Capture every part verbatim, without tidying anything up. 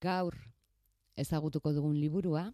Gaur ezagutuko dugun liburua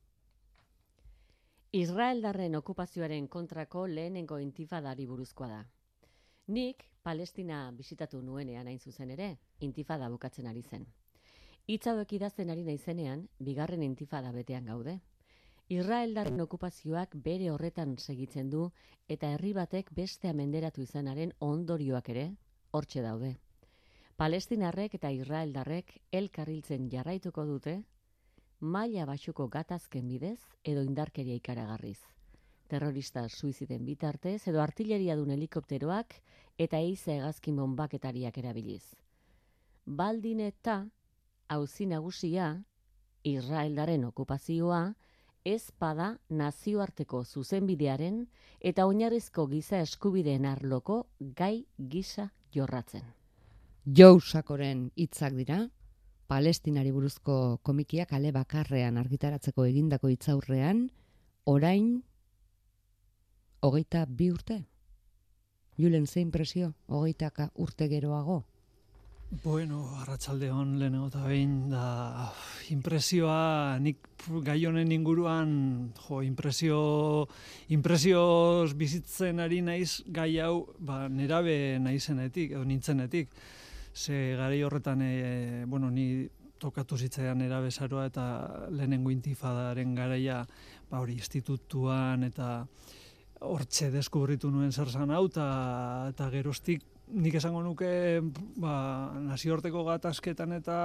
Israeldarren okupazioaren kontrako lehenengo intifadari buruzkoa da. Nik Palestina bisitatu nuenean hain zuzen ere, intifada bukatzen ari zen. Hitz hauek idazten ari naizenean, bigarren intifada betean gaude. Israeldarren okupazioak bere horretan segitzen du eta herri batek bestea menderatu izanaren ondorioak ere hortxe daude. Palestinarrek eta Israeldarrek elkarriltzen jarraituko dute, maila baxuko gatazken bidez edo indarkeria ikaragarriz. Terrorista suiziden bitartez edo artilleriadun helikopteroak eta eize hegazkin bonbaketariak erabiliz. Baldin eta auzi nagusia, Israeldaren okupazioa, ez bada nazioarteko zuzenbidearen eta oinarrizko giza eskubideen arloko gai gisa jorratzen. Joe Sakoren hitzak dira, Palestinari buruzko komikiak ale bakarrean argitaratzeko egindako hitzaurrean, orain hogeita bi urte. Julen, ze impresio, hogeitaka urte geroago? Bueno, arratsalde on lehenengo eta behin, da impresioa, nik gai honen inguruan, jo, impresio, impresioz bizitzen ari naiz gai hau, ba, nerabe naizenetik, edo nintzenetik. Ze garai horretan, e, bueno, ni tokatu zitzaidan nerabezaroa eta lehenengo intifadaren garaia, ba, hori, institutuan eta hortxe deskubritu nuen zer zan hau, eta, eta geroztik nik esango nuke ba, nazioarteko gatazketan eta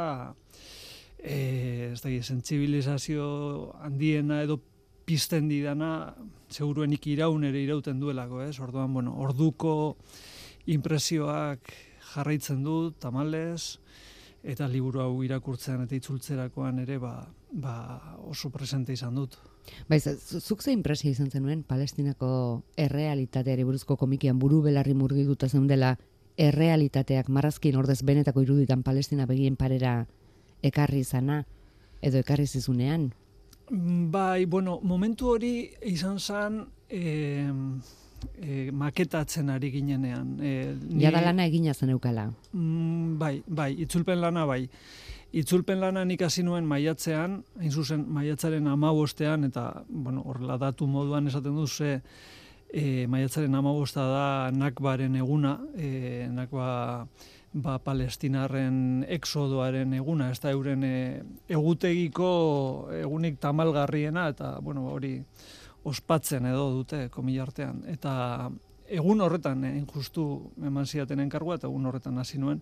e, ez da, sentsibilizazio handiena edo pizten didana, seguruenik iraun ere irauten duelako, ez? Orduan, bueno, orduko impresioak jarraitzen du, tamalez, eta liburu hau irakurtzean eta itzultzerakoan ere ba, ba oso presente izan dut. Baiz, zuk ze impresio izan zenuen Palestinako errealitateari buruzko komikian buru belarri murgilduta zeundela errealitateak marrazkin ordez benetako iruditan Palestina begien parera ekarri izana edo ekarri zizunean? Bai, bueno, momentu hori izan zen e, e, maketatzen ari ginenean. E, ni, Jada lana egina zen eukala. Mm, bai, bai, itzulpen lana bai. Itzulpen lana nik hasi nuen maiatzean, hain zuzen maiatzaren hamabostean, eta, bueno, horrela datu moduan esaten du ze e, maiatzaren hamabosta da Nakbaren eguna, e, Nakba ba, Palestinarren exodoaren eguna, ez da euren e, egutegiko egunik tamalgarriena, eta, bueno, hori ospatzen edo dute komilartean. Eta egun horretan, e, justu eman zidaten enkargua, eta egun horretan hasi nuen,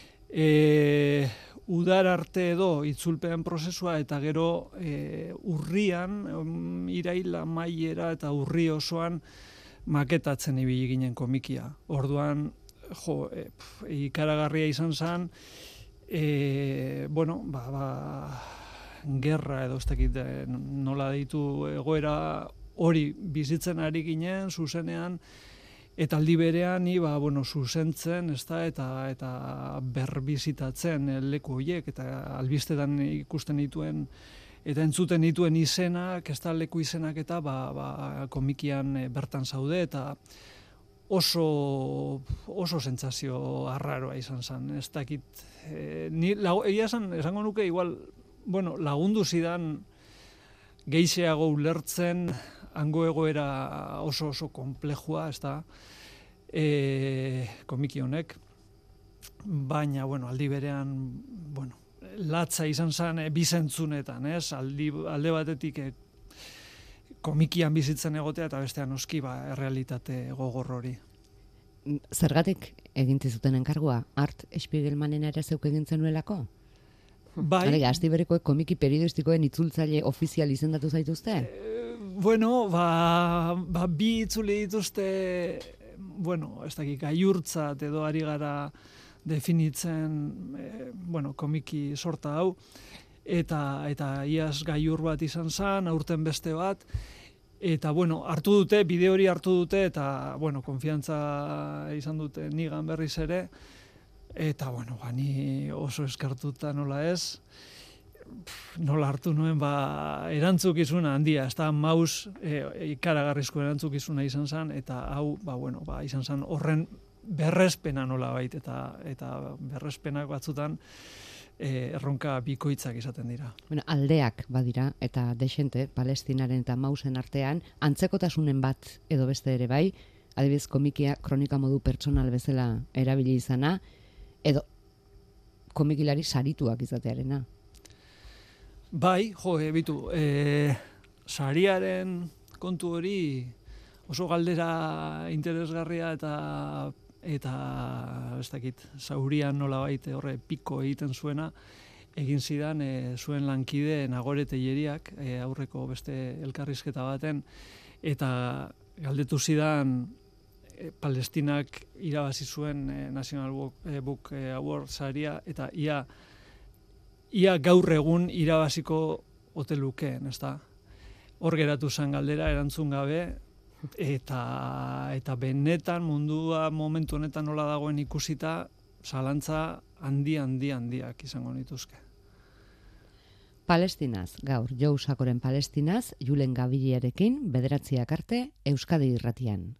E, udar arte edo itzulpean prozesua eta gero e, urrian, um, iraila maiera eta urri osoan maketatzen ibili ginen komikia. Orduan, jo, e, pf, ikaragarria izan zen, e, bueno, ba, ba, gerra edo ez dakit nola deitu egoera hori bizitzen ari ginen, zuzenean, eta aldi berean ni ba bueno zuzentzen, ezta, eta eta berbizitatzen leku horiek eta albistetan ikusten dituen eta entzuten dituen izenak, ezta, leku izenak eta ba, ba komikian bertan zaude eta oso oso sentsazio arraroa izan zen. Ez dakit e, ni egia esan esango nuke igual bueno, lagundu zidan gehixeago ulertzen hango egoera oso oso komplejua, ez da, e, komiki honek, baina, bueno, aldi berean, bueno, latza izan zen e, bizentzunetan, ez, aldi, alde batetik e, komikian bizitzen egotea eta bestean noski ba, errealitate gogor hori. Zergatik eginti zuten enkargua, Art Spiegelmanen ere zeuk egin zenuelako? Bai. Gazti berekoek komiki periodistikoen itzultzaile ofizial izendatu zaituzte? E, Bueno, ba, ba bi itzuli dituzte, bueno, ez dakik, gaiurtzat edo ari gara definitzen, e, bueno, komiki sorta hau, eta eta iaz gaiur bat izan zen, aurten beste bat, eta, bueno, hartu dute, bide hori hartu dute, eta, bueno, konfiantza izan dute nigan berriz ere, eta, bueno, ba, ni oso eskartuta nola ez, nola hartu nuen ba, erantzukizuna handia, ez da maus e, ikaragarrizko erantzukizuna izan zen, eta hau ba, bueno, ba, izan zen horren berrespena nola bait, eta, eta berrespenak batzutan e, erronka bikoitzak izaten dira. Bueno, aldeak badira, eta desente, Palestinaren eta Mausen artean, antzekotasunen bat edo beste ere bai, adibidez komikia kronika modu pertsonal bezala erabili izana, edo komikilari sarituak izatearena. Bai, jo, e, bitu, e, sariaren kontu hori oso galdera interesgarria eta eta ez dakit, zaurian nolabait horre piko egiten zuena, egin zidan e, zuen lankide Nagore Telleriak e, aurreko beste elkarrizketa baten, eta galdetu zidan e, Palestinak irabazi zuen e, National Book, e, Book Award saria, eta ia ia gaur egun irabaziko ote lukeen, ezta? Hor geratu zen galdera erantzun gabe, eta eta benetan mundua momentu honetan nola dagoen ikusita, zalantza handi handi handiak izango nituzke. Palestinaz, gaur, Joe Sakoren Palestinaz, Julen Gabiliarekin, bederatziak arte, Euskadi Irratian.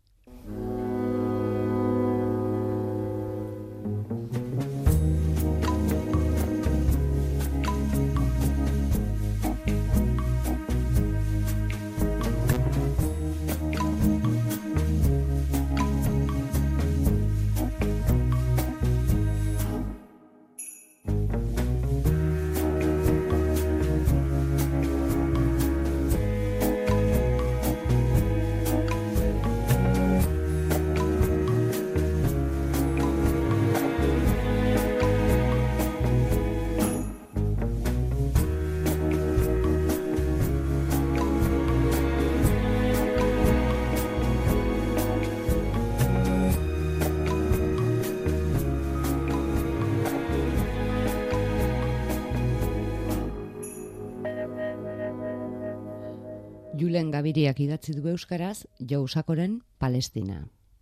Julen Gabiriak idatzi du euskaraz, Joe Sakoren Palestina.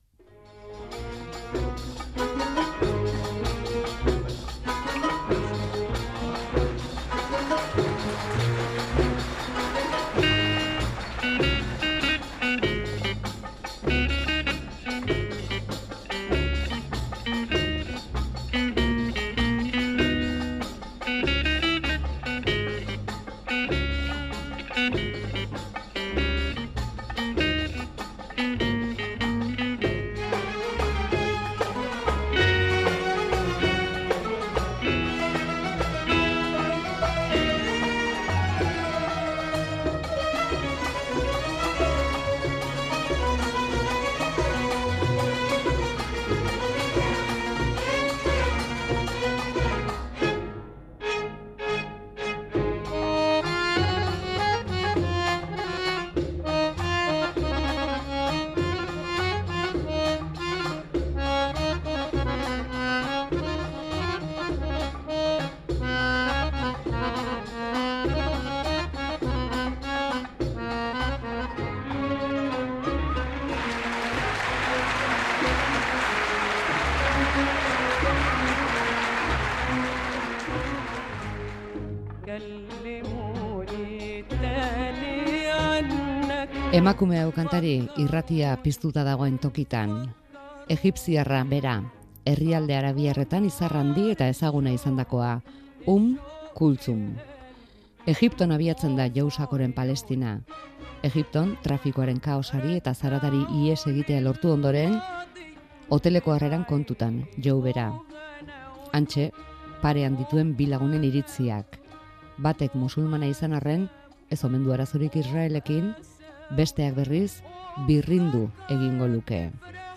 Emakume hau kantari irratia piztuta dagoen tokitan. Egipziarra bera, herrialde arabiarretan izar handi eta ezaguna izandakoa, Um Kultzum. Egipton abiatzen da Joe Sakoren Palestina. Egipton trafikoaren kaosari eta zaratari ihes egitea lortu ondoren, hoteleko harreran kontutan, Joe bera. Antxe, parean dituen bi lagunen iritziak. Batek musulmana izan arren, ez omen du arazorik Israelekin, besteak berriz birrindu egingo luke.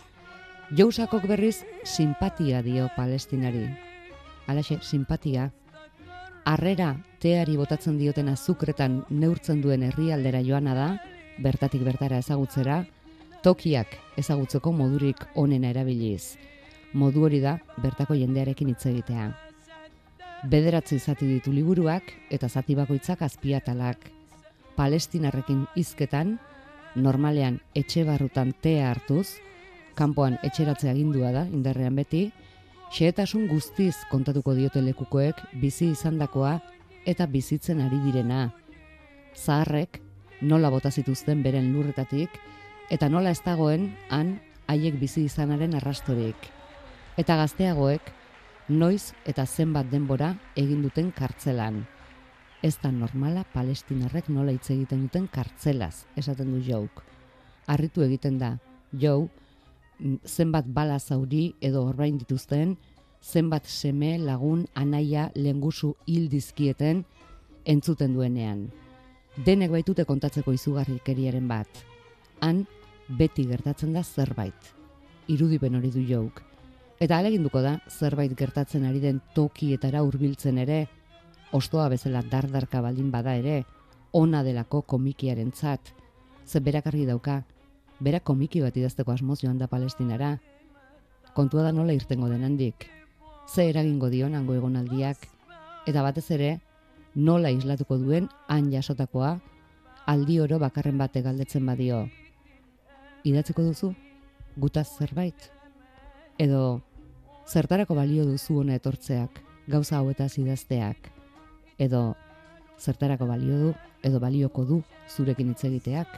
Joe Sakok berriz simpatia dio Palestinari. Halaxe, simpatia. Harrera teari botatzen dioten azukretan neurtzen duen herrialdera joana da, bertatik bertara ezagutzera, tokiak ezagutzeko modurik onena erabiliz. Modu hori da bertako jendearekin hitz egitea. Bederatzi zati ditu liburuak eta zati bakoitzak azpiatalak. Palestinarrekin hizketan, normalean etxe barrutan tea hartuz, kanpoan etxeratzea agindua da, indarrean beti, xehetasun guztiz kontatuko diote lekukoek bizi izandakoa eta bizitzen ari direna. Zaharrek nola bota zituzten beren lurretatik eta nola ez dagoen han haiek bizi izanaren arrastorik. Eta gazteagoek noiz eta zenbat denbora egin duten kartzelan. Ez da normala palestinarrek nola hitz egiten duten kartzelaz, esaten du Jouk. Harritu egiten da, Joe, zenbat bala zauri edo orbain dituzten, zenbat seme, lagun, anaia, lengusu hil dizkieten entzuten duenean. Denek baitute kontatzeko izugarrikeriaren bat. Han, beti gertatzen da zerbait. Irudipen hori du Jouk. Eta aleginduko da, zerbait gertatzen ari den tokietara hurbiltzen ere, ostoa bezala dardarka baldin bada ere, ona delako komikiarentzat. Ze berak argi dauka, berak komiki bat idazteko asmoz joan da Palestinara. Kontua da nola irtengo den handik. Ze eragingo dion hango egonaldiak, eta batez ere, nola islatuko duen han jasotakoa, aldi oro bakarren bate galdetzen badio. Idatziko duzu? Gutaz zerbait? Edo, zertarako balio duzu hona etortzeak, gauza hauetaz idazteak? Edo, zertarako balio du, edo balioko du zurekin hitz egiteak?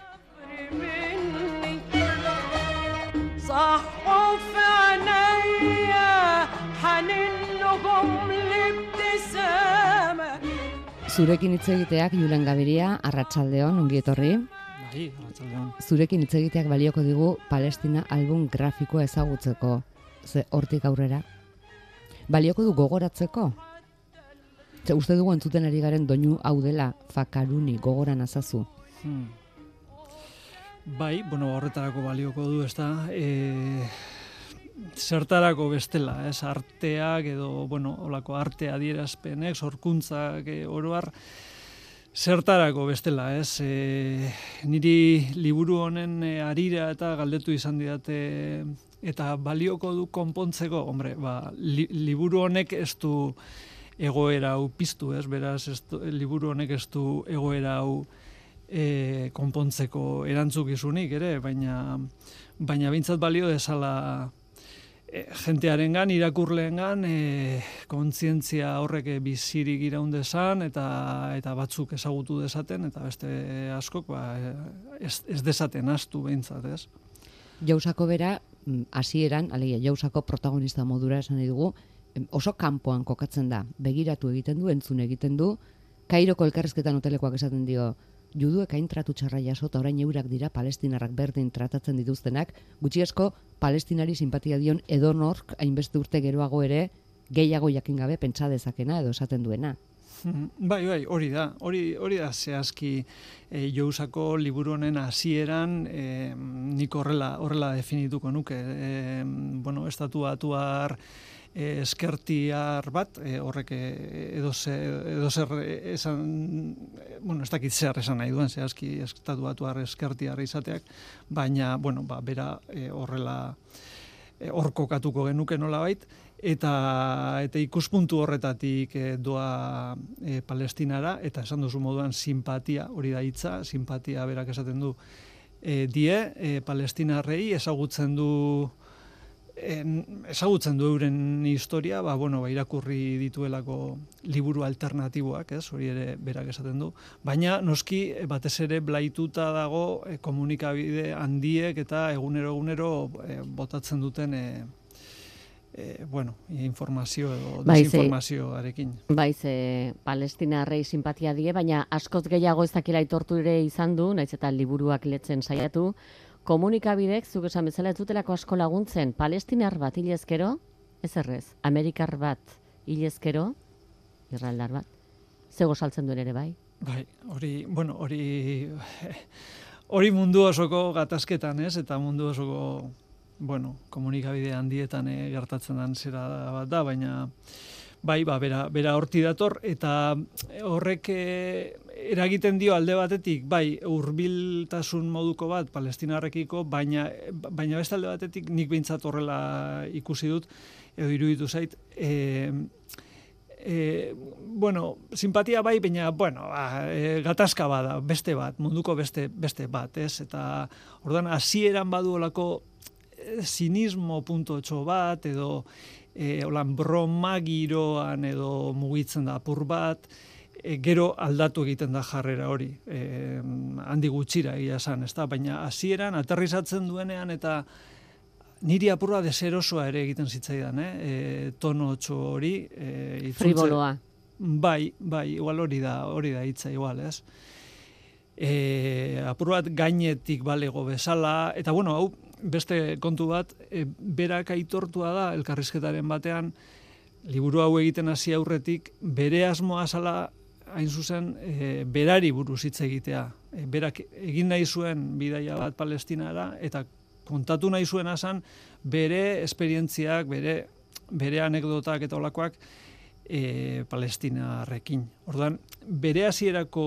Zurekin hitz egiteak, Julen Gabiria, arratsaldeon, ongi etorri. Bai, arratsaldeon. Zurekin hitz egiteak balioko digu Palestina album grafikoa ezagutzeko. Ze hortik aurrera. Balioko du gogoratzeko? Ze uste dugu entzuten ari garen doinu hau dela Fakaruni gogoran azazu. Hmm. Bai, bueno, horretarako balioko du, ez da, e, zertarako bestela, ez, arteak edo, bueno, olako arte adierazpenek, sorkuntzak, e, oroar, zertarako bestela, ez, e, niri liburu honen e, harira eta galdetu izan didate, eta balioko du konpontzeko, hombre, ba, li, liburu honek ez du egoera hau piztu, ez, beraz, ez du, liburu honek ez du egoera hau E, konpontzeko erantzukizunik ere, baina baina behintzat balio dezala e, jentearengan, irakurleengan e, kontzientzia horrek bizirik iraun dezan eta eta batzuk ezagutu dezaten eta beste askok ba, ez, ez dezaten astu behintzat, ez? Jausako bera, hasieran, alegia, Jausako protagonista modura esan dugu, oso kanpoan kokatzen da, begiratu egiten du, entzun egiten du, Kairoko elkarrizketan hotelekoak esaten dio, juduek hain tratu txarra jaso eta orain eurak dira palestinarrak berdin tratatzen dituztenak, gutxi asko palestinari simpatia dion edonork hainbeste urte geroago ere gehiago jakin gabe pentsa dezakena edo esaten duena. Bai, bai, hori da. Hori, hori da zehazki e, Jousako liburu honen hasieran e, nik horrela, horrela definituko nuke. E, bueno, estatuatuar E, eskertiar bat, e, horrek edo zer esan, bueno, ez dakit zer esan nahi duen, zehazki estatuatuar eskertiar izateak, baina, bueno, ba, bera e, horrela e, hor kokatuko genuke nolabait, eta eta ikuspuntu horretatik e, doa e, Palestinara, eta esan duzu moduan simpatia, hori da hitza, simpatia berak esaten du e, die, e, palestinarrei ezagutzen du En, ezagutzen du euren historia, ba, bueno, ba, irakurri dituelako liburu alternatiboak, ez, hori ere berak esaten du, baina noski batez ere blaituta dago e, komunikabide handiek eta egunero egunero e, botatzen duten e, e, bueno, informazio edo desinformazioarekin. Baiz, e, palestinarrei simpatia die, baina askoz gehiago ez dakila aitortu ere izan du, naiz eta liburuak letzen saiatu, komunikabidek, zuk esan bezala ez dutelako asko laguntzen, palestinar bat hilezkero, ez errez, amerikar bat hilezkero, irraldar bat, zego saltzen duen ere bai? Bai, hori, bueno, hori, hori mundu osoko gatazketan, ez, eta mundu osoko, bueno, komunikabide handietan e, gertatzen den zera bat da, baina bai, ba, bera, bera horti dator, eta horrek e, eragiten dio alde batetik, bai, hurbiltasun moduko bat palestinarrekiko, baina, baina beste alde batetik nik behintzat horrela ikusi dut, edo iruditu zait, e, e, bueno, simpatia bai, baina, bueno, ba, e, gatazka bada, beste bat, munduko beste, beste bat, ez? Eta, orduan, hasieran badu olako e, sinismo puntotxo bat, edo E, holan broma giroan edo mugitzen da apur bat, e, gero aldatu egiten da jarrera hori, e, handi gutxira egia esan, ezta? Baina hasieran aterrizatzen duenean eta niri apurra deserosoa ere egiten zitzaidan, eh? E, tono txo hori. E, Friboloa. Bai, bai, igual hori da, hori da hitza igual, ez? E, apur bat gainetik balego bezala, eta bueno, hau beste kontu bat, e, berak aitortua da elkarrizketaren batean, liburu hau egiten hasi aurretik, bere asmoa zala hain zuzen e, berari buruz hitz egitea. E, berak egin nahi zuen bidaia bat Palestinara, eta kontatu nahi zuen asan bere esperientziak, bere, bere anekdotak eta olakoak, E, Palestinarrekin. Orduan, bere hasierako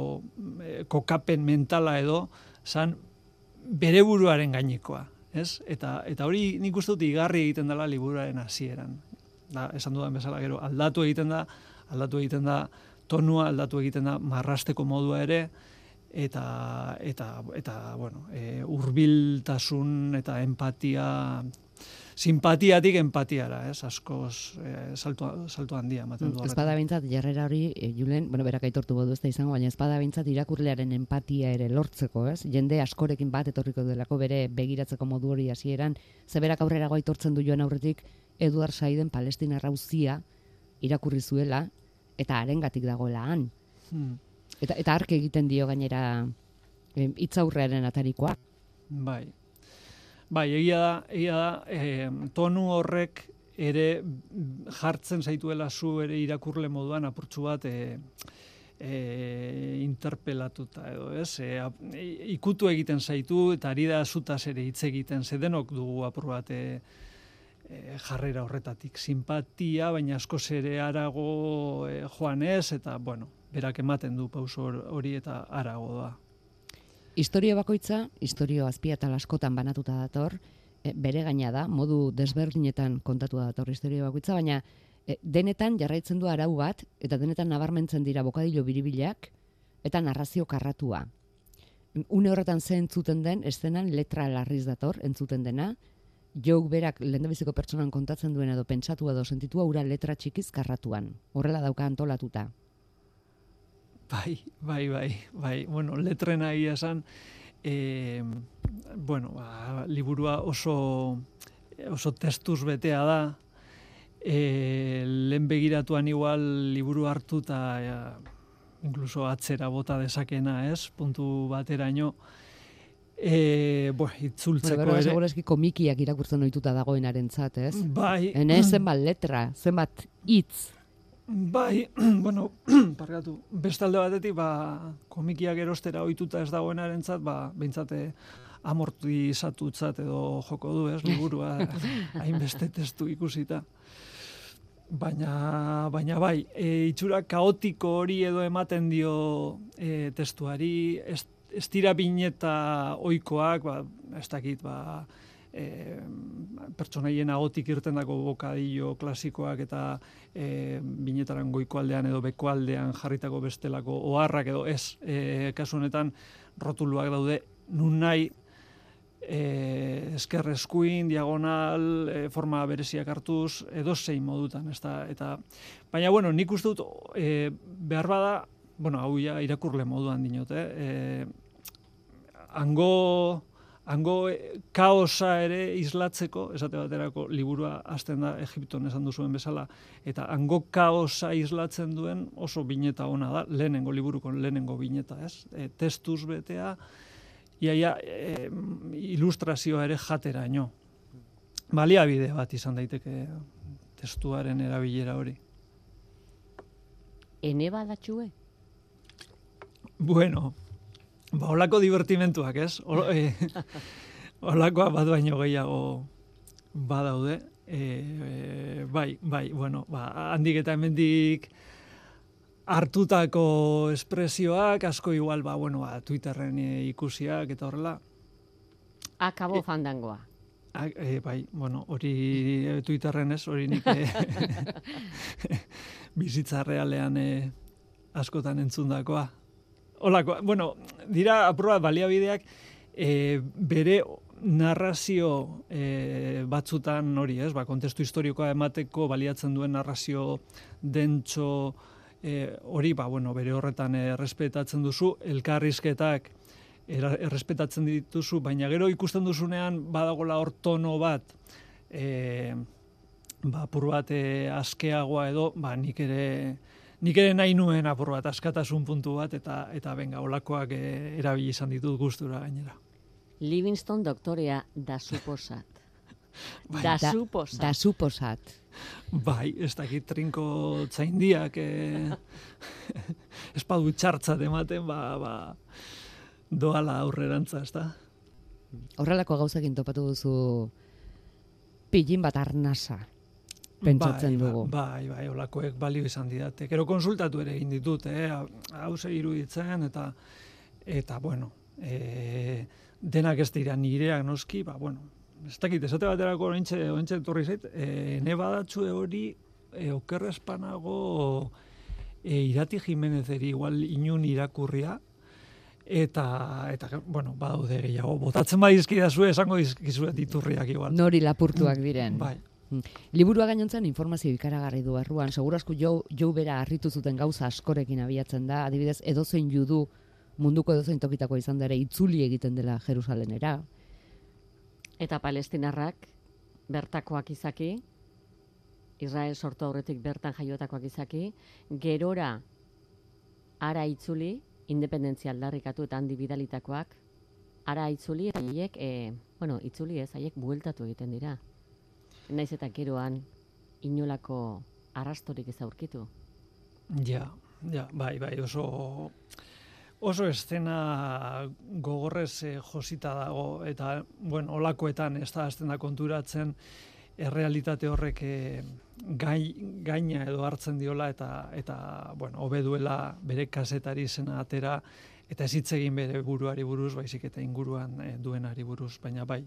e, kokapen mentala edo zan bere buruaren gainekoa, ez? Eta, eta hori nik uste dut igarri egiten dela liburuaren hasieran. Da, esan dudan bezala gero, aldatu egiten da, aldatu egiten da tonua, aldatu egiten da marrasteko modua ere, eta, eta, eta bueno, e, hurbiltasun eta empatia, simpatiatik empatiara, ez, askoz e, salto, salto handia ematen du. Ez bada bintzat, jarrera hori, e, Julen, bueno, berak aitortu bodu ez da izango, baina ez bada bintzat irakurlearen empatia ere lortzeko, ez? Jende askorekin bat etorriko delako bere begiratzeko modu hori hasieran, ze berak aurrerago aitortzen du joan aurretik, Eduard Saiden Palestina rauzia irakurri zuela, eta harengatik dagoela han. Hmm. Eta, eta ark egiten dio gainera e, hitzaurrearen atarikoa. Bai. Bai, egia da, egia da, e, tonu horrek ere jartzen zaituela zu ere irakurle moduan apurtxu bat e, e, interpelatuta edo, ez? E, ikutu egiten zaitu eta ari da zutaz ere hitz egiten, ze denok dugu apur bat e, e, jarrera horretatik. Simpatia, baina askoz ere arago e, joan ez, eta, bueno, berak ematen du pauso hori eta arago da. Historio bakoitza, historio azpiatal askotan banatuta dator, e, bere gaina da, modu desberdinetan kontatu dator historio bakoitza, baina e, denetan jarraitzen du arau bat, eta denetan nabarmentzen dira bokadilo biribilak, eta narrazio karratua. Une horretan ze entzuten den, eszenan letra larriz dator, entzuten dena, jouk berak lehendabiziko pertsonan kontatzen duen edo pentsatu edo sentitua ura letra txikiz karratuan. Horrela dauka antolatuta. Bai, bai, bai, bai. Bueno, letrena egia esan, e, bueno, ba, liburua oso, oso testuz betea da, e, lehen begiratuan igual liburu hartu eta ja, inkluso atzera bota dezakena, ez? Puntu bateraino. E, bo, itzultzeko bueno, ere. Segurazki komikiak irakurtzen ohituta dagoenarentzat, ez? Bai. Ene zenbat letra, zenbat hitz. Bai, bueno, parkatu, beste alde batetik, ba, komikiak erostera ohituta ez dagoenarentzat, ba, behintzate amortizatutzat edo joko du, ez, liburua, hainbeste testu ikusita. Baina, baina bai, e, itxura kaotiko hori edo ematen dio e, testuari, ez, ez dira bineta ohikoak, ba, ez dakit, ba, E, pertsonaien agotik irtendako bokadillo klasikoak eta e, binetaran goiko aldean edo beko aldean jarritako bestelako oharrak edo ez, e, kasu honetan rotuluak daude nun nahi e, esker eskuin, diagonal, e, forma bereziak hartuz, edo zein modutan, ez da, eta, baina, bueno, nik uste dut, e, behar bada, bueno, hau ja irakurle moduan dinote, e, hango Hango kaosa ere islatzeko, esate baterako liburua hasten da Egipton esan duzuen bezala, eta hango kaosa islatzen duen oso bineta ona da, lehenengo liburuko lehenengo bineta, ez? E, testuz betea, iaia e, ilustrazioa ere jateraino. Baliabide bat izan daiteke testuaren erabilera hori. Ene badatxue? Bueno, ba, holako divertimentuak, ez? E, holakoa bat baino gehiago badaude. E, e, bai, bai, bueno, ba, handik eta hemendik hartutako espresioak, asko igual, ba, bueno, ba, Twitterren e, ikusiak eta horrela. Akabo e, fandangoa. A, e, bai, bueno, hori e, Twitterren ez, hori nik e, bizitza realean e, askotan entzundakoa. Olako, bueno, dira aproba baliabideak e, bere narrazio e, batzutan hori, ez? Ba, kontestu historikoa emateko baliatzen duen narrazio dentxo e, hori, ba, bueno, bere horretan errespetatzen duzu, elkarrizketak errespetatzen dituzu, baina gero ikusten duzunean badagola hor tono bat, e, ba, apur bat e, askeagoa edo, ba, nik ere nik ere nahi nuen apur bat askatasun puntu bat, eta eta benga, olakoak e, erabili izan ditut gustura gainera. Livingston doktorea da suposat. Bai, da, da suposat. Da suposat. Bai, ez dakit trinko txaindiak e, espadu txartzat ematen, ba, ba, doala aurrerantza, ez da? Horrelako gauzakin topatu duzu pillin bat arnasa, pentsatzen bai, dugu. Bai, bai, olakoek balio izan didate. Gero konsultatu ere egin ditut, eh? Hau ze iruditzen, eta, eta bueno, e, denak ez dira nireak noski, ba, bueno, ez dakit, esate baterako ointxe, ointxe torri zait, e, ne badatxue hori e, okerrespanago e, Irati Jimenezeri igual inun irakurria, eta, eta bueno, badaude gehiago, botatzen badizkidazue esango dizkizuet iturriak igual. Nori lapurtuak diren. Bai. Liburua gainontzen informazio ikaragarri du erruan, segurazko jo, jo bera harritu zuten gauza askorekin abiatzen da, adibidez edozein judu munduko edozein tokitako izan da ere itzuli egiten dela Jerusalenera. Eta palestinarrak bertakoak izaki, Israel sortu aurretik bertan jaiotakoak izaki, gerora ara itzuli, independentzia aldarrikatu eta handi bidalitakoak, ara itzuli, eta haiek, e, bueno, itzuli ez, haiek bueltatu egiten dira. Naiz eta geroan inolako arrastorik ez aurkitu. Ja, ja, bai, bai, oso oso estena gogorrez eh, josita dago, eta, bueno, olakoetan ez da azten da konturatzen errealitate horrek eh, gai, gaina edo hartzen diola, eta, eta bueno, hobe duela bere kazetari izena atera, eta ez hitz egin bere buruari buruz, baizik eta inguruan eh, duenari buruz, baina bai.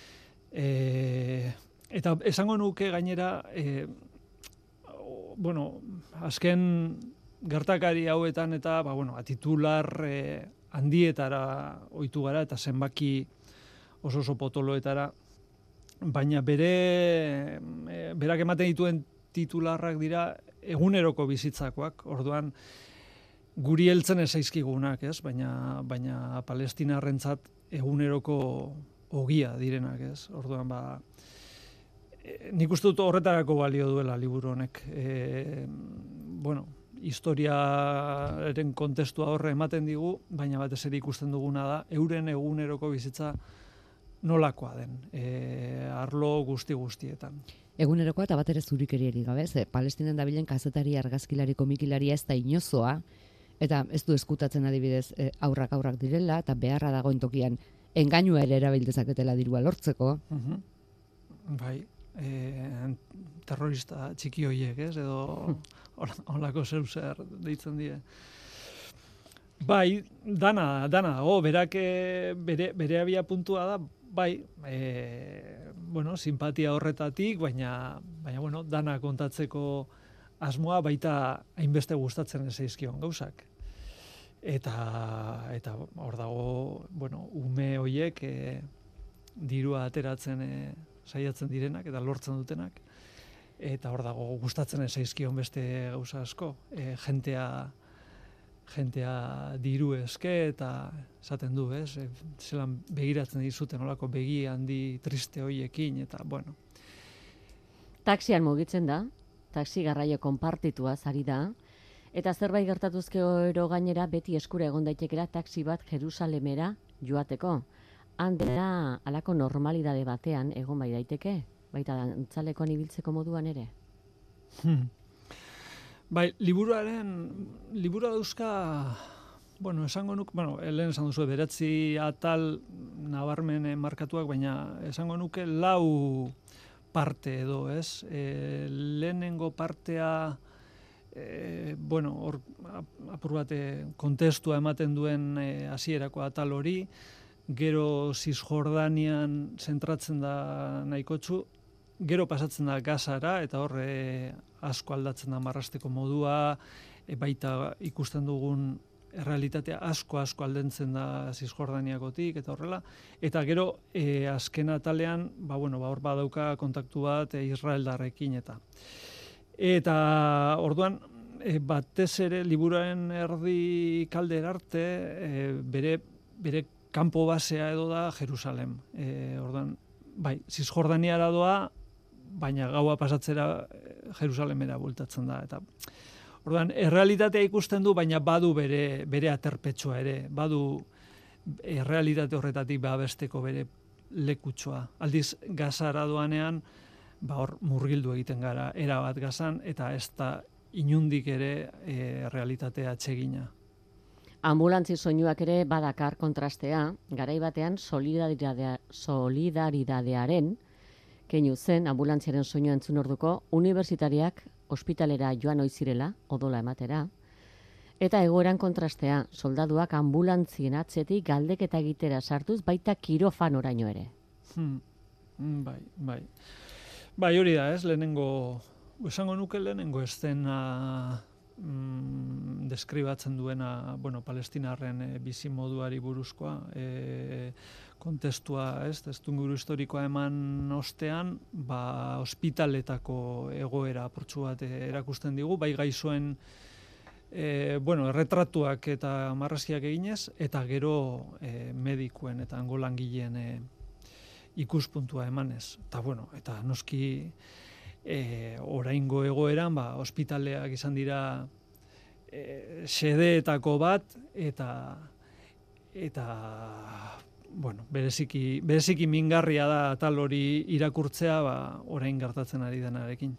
E, eta esango nuke gainera, e, bueno, azken gertakari hauetan eta ba, bueno, titular e, handietara ohitu gara eta zenbaki oso oso potoloetara, baina bere e, berak ematen dituen titularrak dira eguneroko bizitzakoak, orduan guri heltzen ez zaizkigunak, ez? Baina baina palestinarrentzat eguneroko ogia direnak, ez? Orduan ba e, nik uste dut horretarako balio duela liburu honek. E, bueno, historiaren kontestua horre ematen digu, baina batez ere ikusten duguna da, euren eguneroko bizitza nolakoa den, e, arlo guzti guztietan. Egunerokoa eta bat ere zurikeriari gabe, ze Palestinen dabilen kazetari, argazkilari, komikilaria ez da inozoa, eta ez du eskutatzen adibidez e, aurrak aurrak direla, eta beharra dagoen tokian engainua ere erabiltezaketela dirua lortzeko. Uh-huh. Bai, e, terrorista txiki hoiek, ez, edo holako zeu zer deitzen die. Bai, dana, dana, oh, berak bere, bere abia puntua da, bai, e, bueno, simpatia horretatik, baina, baina, bueno, dana kontatzeko asmoa baita hainbeste gustatzen ez zaizkion gauzak. Eta, eta hor dago, bueno, ume hoiek e, dirua ateratzen e, saiatzen direnak eta lortzen dutenak. Eta hor dago gustatzen ez zaizkion beste gauza asko. E, jentea, jentea diru eske eta esaten du, ez? E, zelan begiratzen dizuten olako begi handi triste hoiekin, eta bueno. Taxian mugitzen da, taxi garraio konpartituaz ari da, eta zerbait gertatuzke oro gainera beti eskura egon daitekela taxi bat Jerusalemera joateko. Han dela alako normalidade batean egon bai daiteke, baita dantzalekoan ibiltzeko moduan ere. Hmm. Bai, liburuaren, liburua dauzka, bueno, esango nuk, bueno, lehen esan duzu, beratzi atal nabarmen markatuak, baina esango nuke lau parte edo, ez? E, lehenengo partea, e, bueno, hor apur bat kontestua ematen duen hasierako e, atal hori, gero Cisjordanian zentratzen da nahikotsu, gero pasatzen da Gazara, eta hor e, asko aldatzen da marrasteko modua, e, baita ikusten dugun errealitatea asko asko aldentzen da Cisjordaniakotik eta horrela, eta gero e, azken atalean, ba bueno, ba hor badauka kontaktu bat e, Israeldarrekin eta eta orduan e, batez ere liburuaren erdi kalder arte e, bere bere kanpo basea edo da Jerusalem. E, ordan, bai, Zisjordaniara doa, baina gaua pasatzera Jerusalemera bultatzen da. Eta ordan, errealitatea ikusten du, baina badu bere, bere aterpetsua ere, badu errealitate horretatik babesteko bere lekutsoa. Aldiz, Gazara doanean, ba hor murgildu egiten gara, erabat Gazan, eta ez da inundik ere e, realitatea atsegina. Ambulantzi soinuak ere badakar kontrastea, garai batean solidaridadea, solidaridadearen keinu zen ambulantziaren soinua entzun orduko, unibertsitariak ospitalera joan oizirela, odola ematera, eta egoeran kontrastea, soldaduak ambulantzien atzetik galdeketa egitera sartuz, baita kirofanoraino ere. Hmm. Bai, bai. Bai, hori da, ez, lehenengo, esango nuke lehenengo estena mm, deskribatzen duena, bueno, palestinarren e, bizi moduari buruzkoa, e, kontestua, ez, testuinguru historikoa eman ostean, ba, ospitaletako egoera apurtxu bat erakusten digu, bai gaixoen e, bueno, erretratuak eta marrazkiak eginez, eta gero e, medikuen eta hango langileen e, ikuspuntua emanez. Eta, bueno, eta noski e, oraingo egoeran, ba, ospitaleak izan dira e, xedeetako bat, eta eta bueno, bereziki, bereziki mingarria da tal hori irakurtzea, ba, orain gertatzen ari denarekin.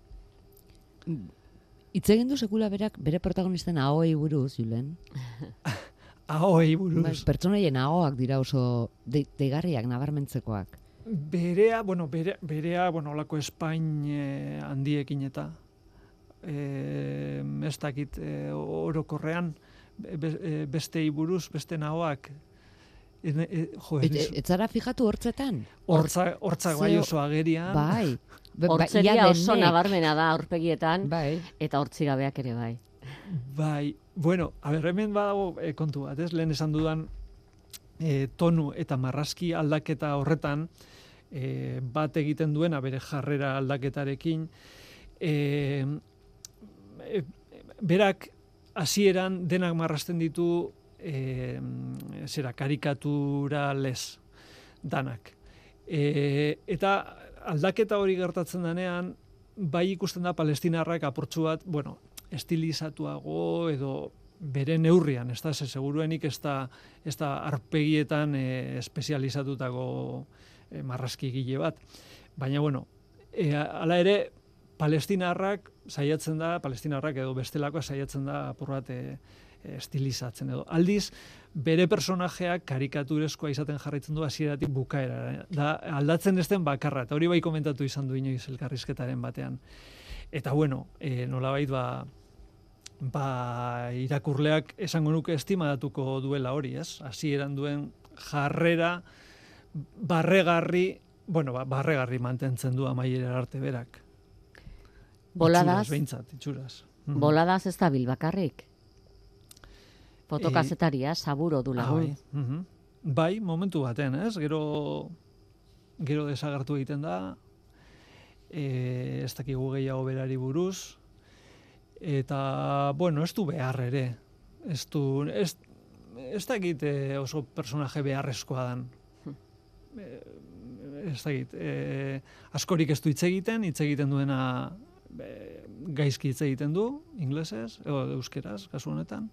Hitz egin du sekula berak bere protagonisten ahoei buruz, Julen. Ahoei buruz. Ba, pertsonaien ahoak dira oso de, deigarriak, nabarmentzekoak. Berea, bueno, bere, berea, bueno, olako Espain eh, handiekin eta eh, ez dakit eh, orokorrean be, bestei buruz, beste nahoak. E, e, jo, Et, et, et zara fijatu hortzetan? Hortza, hortzak bai oso agerian. Bai. Hortzeria oso nabarmena da aurpegietan, bai. Eta hortzigabeak ere bai. Bai, bueno, a ber, hemen badago e, kontu bat, ez? Lehen esan dudan e, tonu eta marrazki aldaketa horretan e, bat egiten duena bere jarrera aldaketarekin, e, e, berak hasieran denak marrazten ditu e, zera karikatura lez danak. E, eta aldaketa hori gertatzen denean, bai ikusten da palestinarrak apurtxu bat, bueno, estilizatuago edo bere neurrian, ez da, ze seguruenik ez da, ez da arpegietan e, espezializatutako e, marrazkigile bat. Baina, bueno, e, ala ere, palestinarrak saiatzen da, palestinarrak edo bestelakoa saiatzen da apur bat e, estilizatzen edo. Aldiz, bere personajeak karikaturezkoa izaten jarraitzen du hasieratik bukaera. Da, aldatzen ezten bakarra, eta hori bai komentatu izan du inoiz elkarrizketaren batean. Eta bueno, e, nolabait ba, ba irakurleak esango nuke estimatuko duela hori, ez? Hasieran duen jarrera barregarri, bueno, ba, barregarri mantentzen du amaiera arte berak. Boladaz, itxuraz, behintzat, itxuraz. Boladaz ez da bil bakarrik. Fotokazetaria, e, saburo du lagun. Ah, bai. Uh-huh. Bai, momentu baten, ez? Gero, gero desagertu egiten da, e, ez dakigu gehiago berari buruz, eta, bueno, ez du behar ere. Ez du, ez, ez dakit oso personaje beharrezkoa dan. E, ez dakit, e, askorik ez du hitz egiten, hitz egiten duena e, gaizki hitz egiten du, inglesez, edo euskeraz, kasu honetan.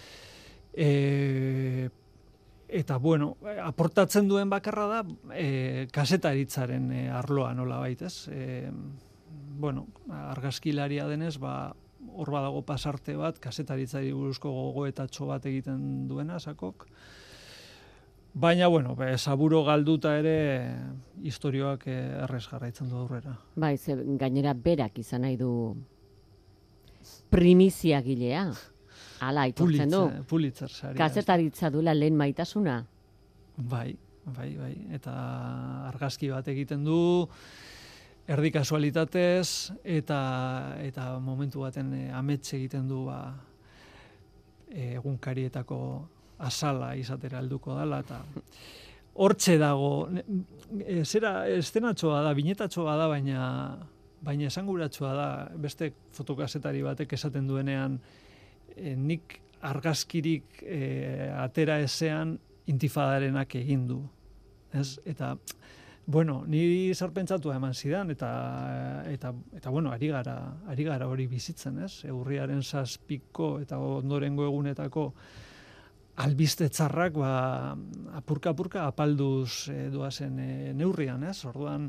E, eta, bueno, aportatzen duen bakarra da e, kasetaritzaren e, arloa nola baitez. E, bueno, argazkilaria denez, ba, hor badago pasarte bat, kasetaritzari buruzko gogoetatxo bat egiten duena, sakok. Baina, bueno, be, saburo galduta ere historioak errez jarraitzen du aurrera. Bai, ze, gainera berak izan nahi du primizia gilea. Hala, aitortzen du. Pulitzer saria. Kazetaritza duela lehen maitasuna. Bai, bai, bai. Eta argazki bat egiten du, erdi kasualitatez, eta, eta momentu baten e, amets egiten du ba, egunkarietako azala izatera helduko dela, eta hortxe dago, e, zera estenatxoa da, binetatxoa da, baina, baina esanguratxoa da, beste fotokazetari batek esaten duenean, E, nik argazkirik e, atera ezean intifadarenak egin du. Ez? Eta, bueno, niri zarpentsatua eman zidan, eta, eta, eta bueno, ari gara, ari gara hori bizitzen, ez? Urriaren zazpiko eta ondorengo egunetako albiste txarrak, ba, apurka-apurka apalduz e, doazen e, neurrian, ez? Orduan,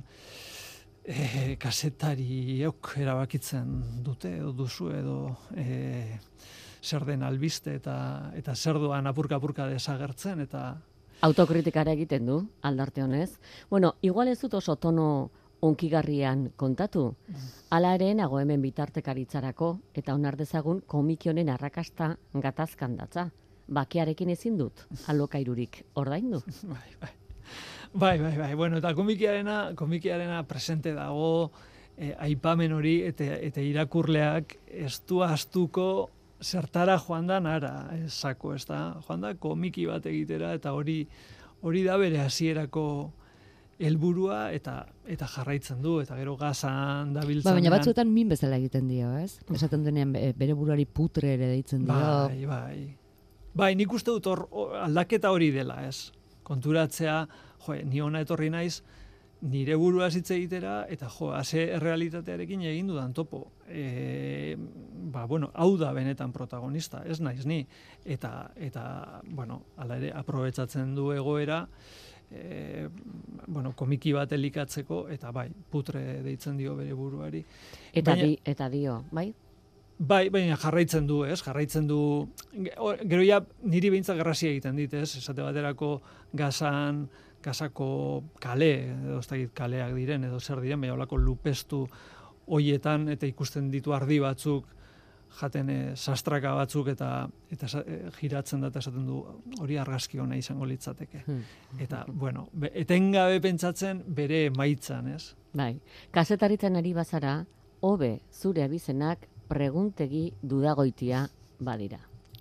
e, kasetariok erabakitzen dute, edo duzu, edo e, zer den albiste, eta, eta zer doan apurka-apurka desagertzen, eta autokritikara egiten du, aldarte honez. Bueno, igual ez dut oso tono onkigarrian kontatu. Hala ere, nago hemen bitartekaritzarako, eta onar dezagun komiki honen arrakasta gatazkan datza. Bakearekin ezin dut, alokairurik ordaindu. Bai, bai. Bai, bai, bai. Bueno, eta komikiarena, komikiarena presente dago, eh, aipamen hori, eta, eta irakurleak ez du astuko zertara joan da nara, esako, ez da? Joan da komiki bat egitera, eta hori hori da bere hasierako helburua eta eta jarraitzen du, eta gero gazan dabiltzen. Ba, baina batzuetan min bezala egiten dio, ez? Esaten denean bere buruari putre ere deitzen dio. Bai, bai. Bai, nik uste dut hor aldaketa hori dela, ez? Konturatzea, jo, ni hona etorri naiz, nire burua hitz egitera, eta jo, ase errealitatearekin egin dudan topo. E, ba, bueno, hau da benetan protagonista, ez naiz ni. Eta, eta bueno, ala ere, aprobetsatzen du egoera, e, bueno, komiki bat elikatzeko, eta bai, putre deitzen dio bere buruari. Eta, baina, di, eta dio, bai? Bai, baina jarraitzen du, ez? Jarraitzen du, gero ja, niri behintzak garrasia egiten dit, ez? Esate baterako gazan, Gazako kale, edo ez dakit kaleak diren, edo zer diren, baina olako lupestu hoietan, eta ikusten ditu ardi batzuk, jaten e, sastraka batzuk, eta eta e, giratzen da, eta esaten du, hori argazki hona izango litzateke. Eta, bueno, be, etengabe pentsatzen bere emaitzan, ez? Bai, kazetaritzen ari bazara, hobe zure abizenak preguntegi dudagoitia badira.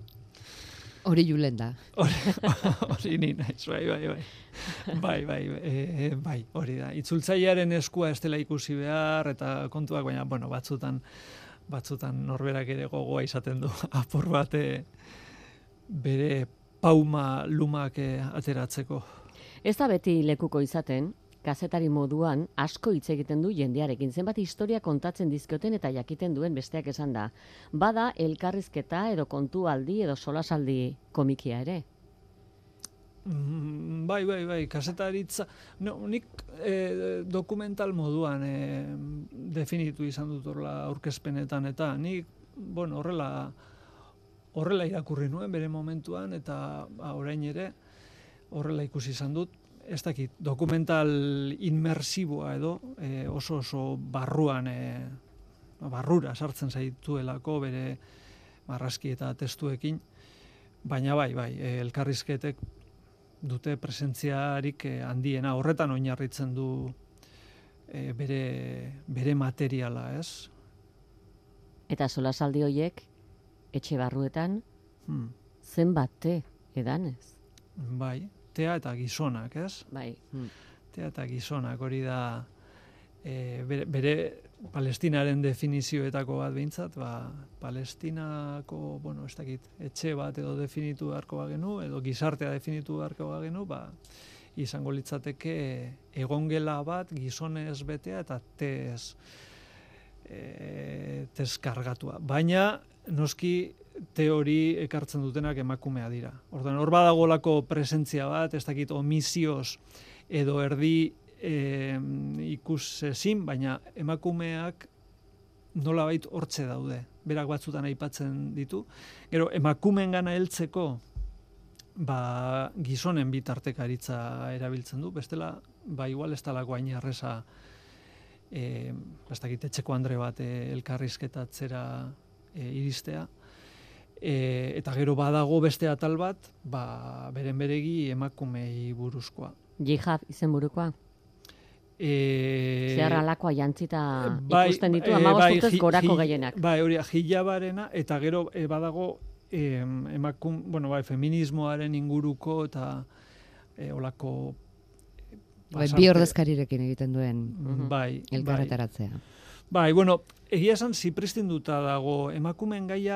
Hori julen da. Hori ni naiz, bai, bai, bai. Bai, bai, e, bai, hori da. Itzultzailearen eskua ez dela ikusi behar, eta kontuak, baina, bueno, batzutan, batzutan norberak ere gogoa izaten du apur bate bere pauma lumak ateratzeko. Ez da beti lekuko izaten, kazetari moduan asko hitz egiten du jendearekin, zenbat historia kontatzen dizkioten eta jakiten duen besteak esan da. Bada elkarrizketa edo kontualdi edo solasaldi komikia ere. Mm, bai, bai, bai, kasetaritza, no, nik eh, dokumental moduan eh, definitu izan dut horrela aurkezpenetan, eta nik, bueno, horrela horrela irakurri nuen bere momentuan, eta ba, orain ere horrela ikusi izan dut. Ez dakit, dokumental inmersiboa edo, e, oso oso barruan, e, barrura sartzen zaituelako bere marrazki eta testuekin, baina bai, bai, e, elkarrizketek dute presentziarik e, handiena, horretan oinarritzen du e, bere, bere materiala, ez? Eta solasaldi horiek, etxe barruetan, hmm. zenbat te edanez? Bai, tea eta gizonak, ez? Bai. Hmm. Tea eta gizonak, hori da e, bere, bere Palestinaren definizioetako bat behintzat, ba, Palestinako, bueno, ez dakit, etxe bat edo definitu beharko bagenu, edo gizartea definitu beharko bagenu, ba, izango litzateke egongela bat gizonez betea eta tez, e, tez kargatua. Baina, noski, teori ekartzen dutenak emakumea dira. Orduan, hor badagolako presentzia bat, ez dakit omisioz edo erdi e, ikus ezin, baina emakumeak nolabait hortze daude. Berak batzutan aipatzen ditu. Gero, emakumeen gana heltzeko ba, gizonen bitartekaritza erabiltzen du. Bestela, ba, igual ez talako hain erreza e, ez dakit, etxeko andre bat e, elkarrizketatzera e, iristea. E, eta gero badago beste atal bat, ba, beren beregi emakumei buruzkoa. Jihad izenburukoa? E, Zehar alakoa jantzita bai, ikusten ditu, e, amabost bai, urtez hi, gorako hi, gehienak. Bai, hori, hijabarena, eta gero e, badago e, emakum, bueno, bai, feminismoaren inguruko eta e, olako bai, bi ordezkarirekin egiten duen bai, elkarretaratzea. Bai, bueno, egia esan zipristinduta dago emakumeen gaia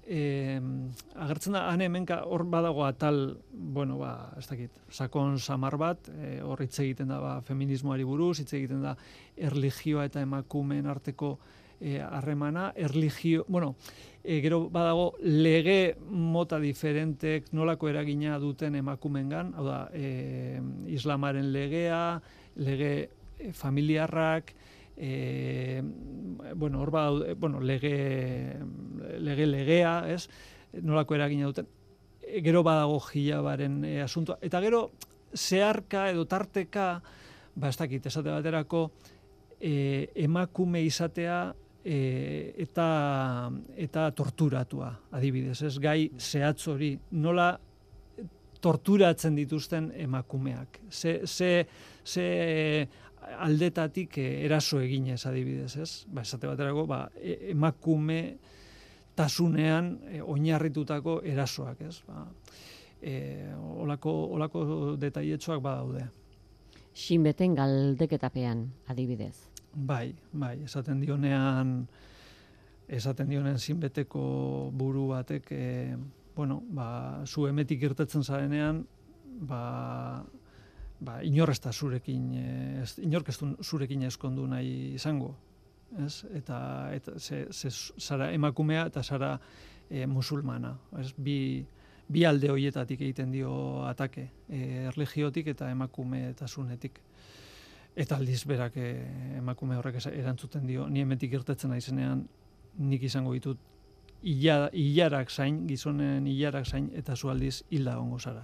e, agertzen da, han hemenka hor badago atal, bueno, ba, ez dakit, sakon samar bat, e, hor hitz egiten da, ba, feminismoari buruz, hitz egiten da, erlijioa eta emakumeen arteko harremana, e, erlijio, bueno, e, gero badago lege mota diferentek nolako eragina duten emakumengan, hau da, e, islamaren legea, lege familiarrak, e, bueno, hor bada, bueno, lege, lege legea, ez? Nolako eragina duten. E, gero badago jilabaren e, asuntoa. Eta gero, zeharka edo tarteka, ba, ez dakit, esate baterako, e, emakume izatea e, eta, eta torturatua, adibidez, ez? Gai zehatz hori, nola torturatzen dituzten emakumeak. Ze, ze, ze aldetatik eraso eginez, adibidez, ez? Ba, esate baterako, ba, emakume tasunean e, oinarritutako erasoak, ez? Ba, e, olako, olako detailetxoak badaude. Xinbeten galdeketapean, adibidez. Bai, bai, esaten dionean, esaten dionean zinbeteko buru batek, e, bueno, ba, zu emetik irtetzen zarenean, ba, ba, inor ez da zurekin, ez, inork ez du zurekin eskondu nahi izango, ez? Eta, eta ze, ze, zara emakumea eta zara e, musulmana, ez? Bi, bi alde horietatik egiten dio atake, e, erlijiotik eta emakumetasunetik. Eta aldiz berak e, emakume horrek erantzuten dio, ni hementik irtetzen naizenean, nik izango ditut ila, ilarak zain, gizonen ilarak zain, eta zu aldiz hilda gongo zara.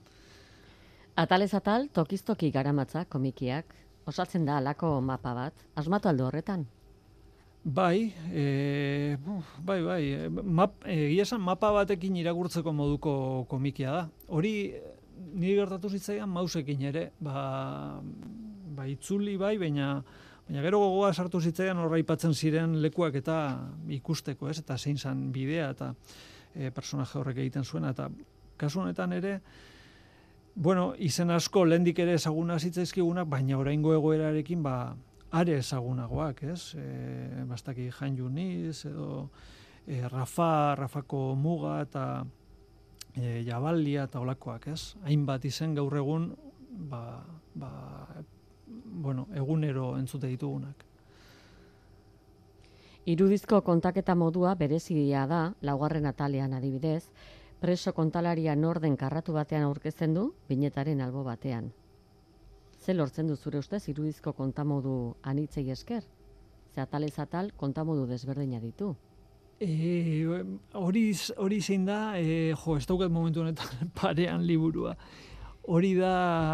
Atalez atal, tokiz-toki garamatza komikiak, osatzen da alako mapa bat, asmatu aldo horretan? Bai, e, bai, bai, map, egia esan mapa batekin irakurtzeko moduko komikia da. Hori niri gertatu zitzaidan mausekin ere, ba, ba itzuli bai, baina, baina gero gogoa sartu zitzaidan horra aipatzen ziren lekuak eta ikusteko, ez? Eta zein zan bidea eta e, personaje horrek egiten zuena, eta kasu honetan ere, bueno, izen asko lehendik ere ezaguna zitzaizkigunak, baina oraingo egoerarekin, ba, are ezagunagoak, ez? E, bastaki Jan Juniz, edo e, Rafa, Rafako Muga, eta e, Jabalia, eta olakoak, ez? Hainbat izen gaur egun, ba, ba, bueno, egunero entzute ditugunak. Irudizko kontaketa modua berezia da, laugarren atalean adibidez, preso kontalaria norden karratu batean aurkezten du, binetaren albo batean. Ze lortzen du zure ustez irudizko kontamodu anitzei esker? Ze atalez atal kontamodu desberdina ditu. E, hori, hori zein da, e, jo, ez daukat momentu honetan parean liburua. Hori da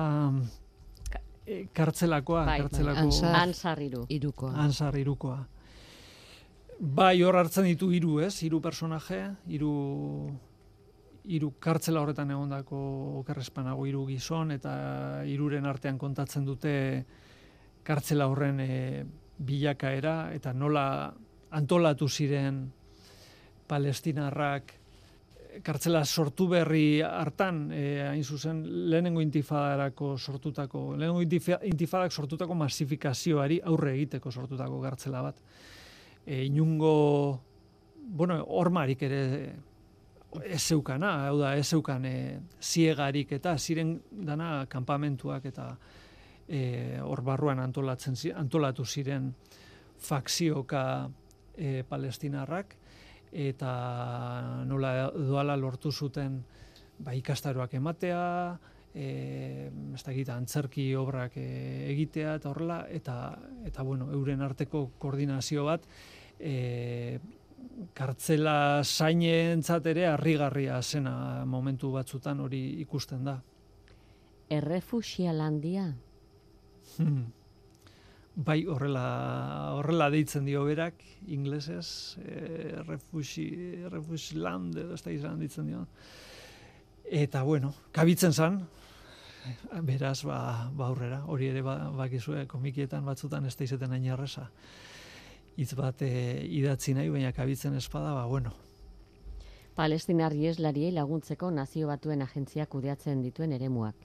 e, kartzelakoa, bai, kartzelako... Ansar, Ansar iru. Irukoa. Ansar irukoa. Bai, hor hartzen ditu hiru, ez? Hiru personaje, hiru hiru kartzela horretan egondako okerrespanago hiru gizon, eta hiruren artean kontatzen dute kartzela horren e, bilakaera, eta nola antolatu ziren palestinarrak kartzela sortu berri hartan, e, hain zuzen, lehenengo intifadarako sortutako, lehenengo intifadak sortutako masifikazioari aurre egiteko sortutako kartzela bat. E, inungo, bueno, hormarik ere ez zeukana, hau da, ez zeukan e, ziegarik eta ziren dana kanpamentuak eta e, hor barruan antolatzen, antolatu ziren fakzioka e, palestinarrak, eta nola doala lortu zuten ba, ikastaroak ematea, e, ez dakit, antzerki obrak e, egitea eta horrela, eta, eta bueno, euren arteko koordinazio bat, e, kartzela zainentzat ere harrigarria zena momentu batzutan hori ikusten da. Errefuxialandia? Hmm. Bai, horrela, horrela deitzen dio berak, inglesez, e, refusi, refusiland, edo ez da izan ditzen dio. Eta, bueno, kabitzen zan, beraz, ba, ba aurrera, hori ere ba, bakizue, komikietan batzutan ez da izeten hain erresa. Hitz bat e, idatzi nahi, baina kabitzen espada, ba, bueno. Palestinar ieslariei laguntzeko Nazio Batuen agentziak kudeatzen dituen eremuak.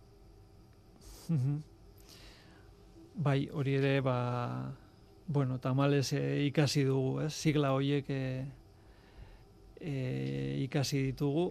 Bai, hori ere, ba, bueno, tamalez e, ikasi dugu, ez? Sigla horiek e, e, ikasi ditugu,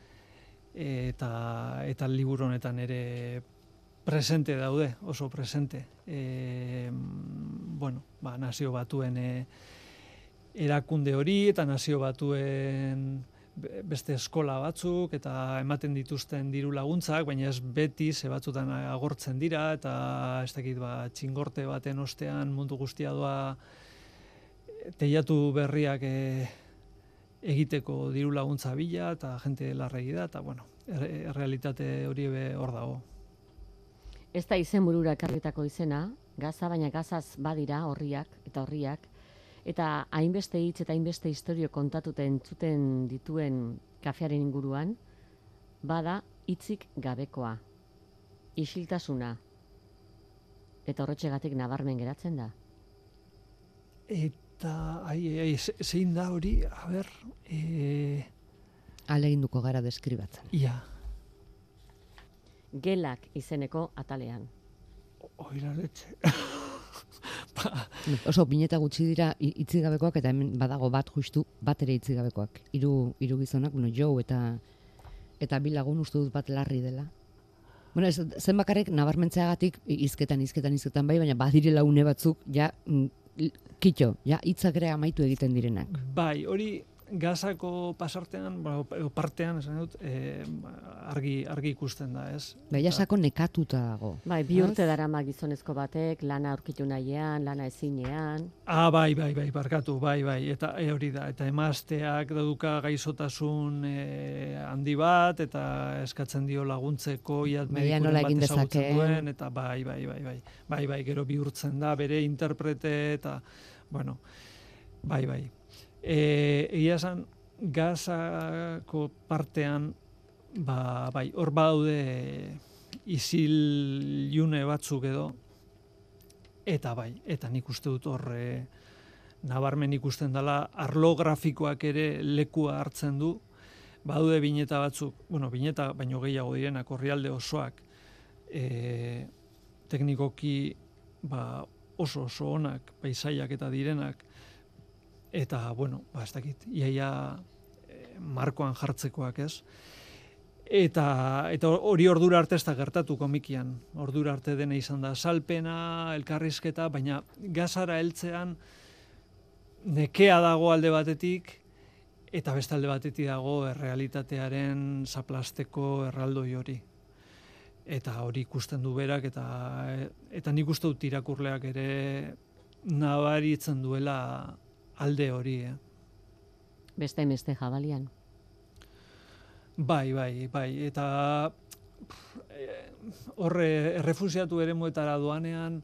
eta eta liburu honetan ere presente daude, oso presente. E, bueno, ba, nazio batuen e, erakunde hori, eta nazio batuen beste eskola batzuk, eta ematen dituzten diru laguntzak, baina ez beti, ze batzutan agortzen dira, eta ez dakit, ba, txingorte baten ostean mundu guztia doa teiatu berriak e, egiteko diru laguntza bila, eta jente larregi da, eta bueno, errealitate hori be hor dago. Ez da izen burura ekarritako izena, Gaza, baina Gazaz badira horriak eta horriak, eta hainbeste hitz eta hainbeste historio kontatuten entzuten dituen kafearen inguruan, bada hitzik gabekoa, isiltasuna, eta horretxegatik nabarmen geratzen da. Eta, ai, ai, zein da hori, a ber... E... Aleginduko gara deskribatzen. Ia. Gelak izeneko atalean. Oira letxe. ba. Oso bineta gutxi dira itzigabekoak, eta hemen badago bat justu, bat ere itzigabekoak. Hiru hiru gizonak, bueno, Joe eta eta bi lagun uste dut bat larri dela. Bueno, ez, zen bakarrik nabarmentzeagatik hizketan, hizketan, hizketan bai, baina badirela une batzuk, ja, kitxo, ja, hitzak ere amaitu egiten direnak. Bai, hori Gazako pasartean, edo partean, esan dut, eh, argi, argi ikusten da, ez? Bai, jasako nekatuta dago. Bai, bi urte darama gizonezko batek, lana aurkitu nahian, lana ezinean. Ah, bai, bai, bai, barkatu, bai, bai, eta e, hori da, eta emazteak dauka gaizotasun e, handi bat, eta eskatzen dio laguntzeko, iat medikuren bat ezagutzen duen, eta bai, bai, bai, bai, bai, bai, gero bihurtzen da, bere interprete, eta, bueno, bai, bai. E, egia esan, Gazako partean, ba, bai, hor badaude isil-june batzuk edo, eta bai, eta nik uste dut hor e, nabarmen ikusten dela, arlo grafikoak ere lekua hartzen du, badaude bineta batzuk, bueno, bineta baino gehiago direnak, orrialde osoak, e, teknikoki ba, oso oso onak, paisaiak eta direnak, eta, bueno, ba, ez dakit, iaia e, markoan jartzekoak, ez? Eta eta hori ordura arte ez da gertatu komikian. Ordura arte dena izan da salpena, elkarrizketa, baina Gazara heltzean nekea dago alde batetik, eta beste alde batetik dago errealitatearen zaplasteko erraldoi hori. Eta hori ikusten du berak, eta, eta nik uste dut irakurleak ere nabaritzen duela alde hori, eh? Beste beste jabalian. Bai, bai, bai, eta horre errefusiatu eremuetara doanean,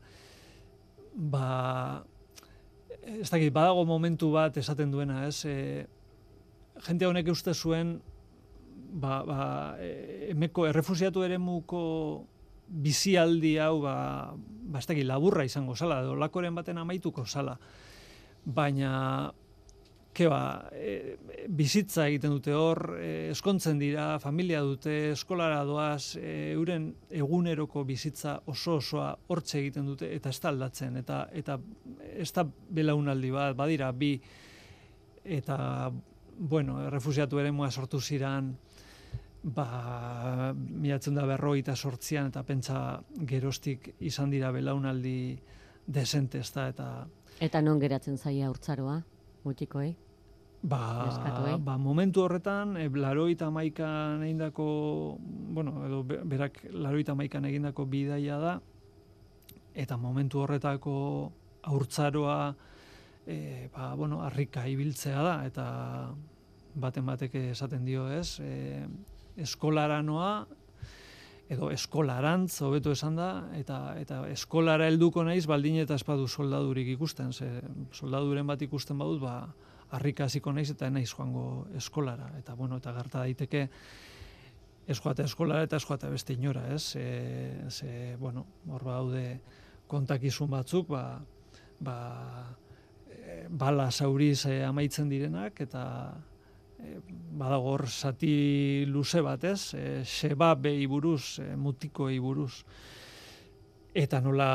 ba, ez dakit, badago momentu bat esaten duena, ez? E, jente honek uste zuen, ba, ba, emeko errefusiatu eremuko bizialdi hau, ba, ba, ez dakit, laburra izango zala, edo lakoren baten amaituko zala. Baina, keba, e, bizitza egiten dute hor, e, eskontzen dira, familia dute, eskolara doaz, e, euren eguneroko bizitza oso osoa hortxe egiten dute, eta ez da aldatzen, eta, eta ez da belaunaldi bat, badira bi, eta, bueno, errefusiatu eremua sortu ziran, ba, miratzen da berrogeita sortzian, eta pentsa geroztik izan dira belaunaldi desente, ez da, eta... Eta non geratzen zaia urtzaroa, mutikoei? Ba, ba, momentu horretan, e, laroita hamaikan egindako, bueno, edo berak laroita hamaikan egindako bidaia da, eta momentu horretako haurtzaroa, e, ba, bueno, harrika ibiltzea da, eta baten batek esaten dio, ez, e, eskolara noa, edo eskolarantz, hobeto esan da, eta, eta eskolara helduko naiz, baldin eta espadu soldadurik ikusten, ze soldaduren bat ikusten badut, ba, harrika hasiko naiz eta naiz joango eskolara, eta bueno, eta gerta daiteke ez joate eskolara eta ez joate beste inora, ez? E, ze, bueno, hor daude kontakizun batzuk, ba, ba, e, bala zauriz e, amaitzen direnak, eta e, badago hor zati luze bat, ez? E, sebabei buruz, e, mutikoi buruz, eta nola...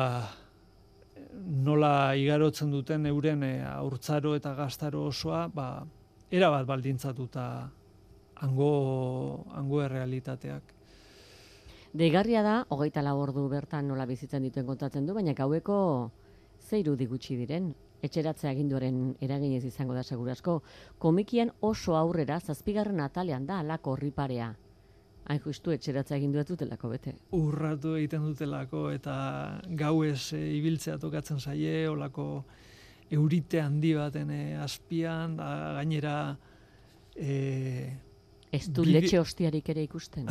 nola igarotzen duten euren e, haurtzaro eta gaztaro osoa, ba, erabat baldintzatuta hango, hango errealitateak. Deigarria da, hogeita lau ordu bertan nola bizitzen dituen kontatzen du, baina gaueko ze irudi gutxi diren. Etxeratzea aginduaren eraginez izango da segurazko. Komikian oso aurrera, zazpigarren atalean da alako horriparea. Hain justu etxeratzea agindu ez dutelako bete. Urratu egiten dutelako eta gauez e, ibiltzea tokatzen zaie, olako eurite handi baten e, azpian, da, gainera... E, ez du bide... letxe hostiarik ere ikusten.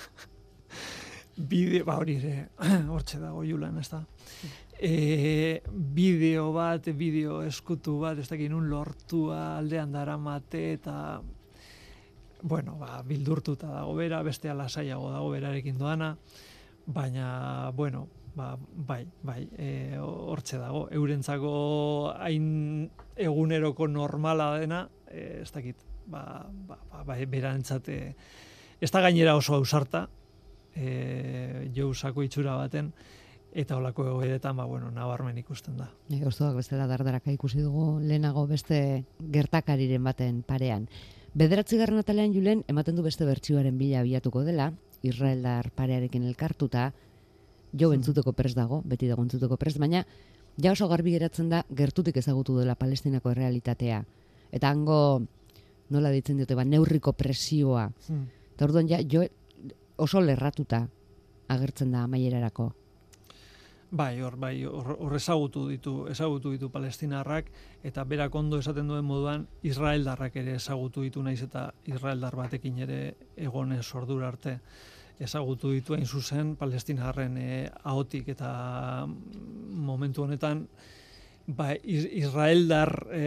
Bideo, ba hori ere, hortxe dago Julan, ez da. E, bideo bat, bideo eskutu bat, ez dakin un lortua aldean daramate eta, bueno, ba, bildurtuta dago bera, beste lasaiago dago berarekin doana, baina, bueno, ba, bai, bai, e, hortxe dago, eurentzako hain eguneroko normala dena, e, ez dakit, ba, ba, ba, ba berantzate, ez da gainera oso ausarta, e, jousako itxura baten, eta holako egoeretan, ba, bueno, nabarmen ikusten da. E, Oztuak bestela dardaraka ikusi dugu lehenago beste gertakariren baten parean. Bederatzigarren atalean Julen, ematen du beste bertsioaren bila abiatuko dela, israeldar parearekin elkartuta, jo entzuteko prest dago, beti dago entzuteko prest, baina ja oso garbi geratzen da gertutik ezagutu dela Palestinako errealitatea. Eta hango, nola ditzen diote, ba, neurriko presioa. Hmm. Eta orduan ja, jo oso lerratuta agertzen da amaierarako. Bai, hor, bai, hor, hor ezagutu ditu, ezagutu ditu palestinarrak, eta berak ondo esaten duen moduan, israeldarrak ere ezagutu ditu, naiz eta israeldar batekin ere egonez ordura arte ezagutu ditu hain zuzen palestinarren e, ahotik, eta momentu honetan, ba, israeldar e,